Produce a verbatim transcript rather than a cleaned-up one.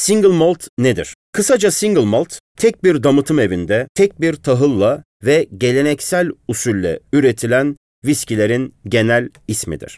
single malt nedir? Kısaca single malt, tek bir damıtım evinde, tek bir tahılla ve geleneksel usulle üretilen viskilerin genel ismidir.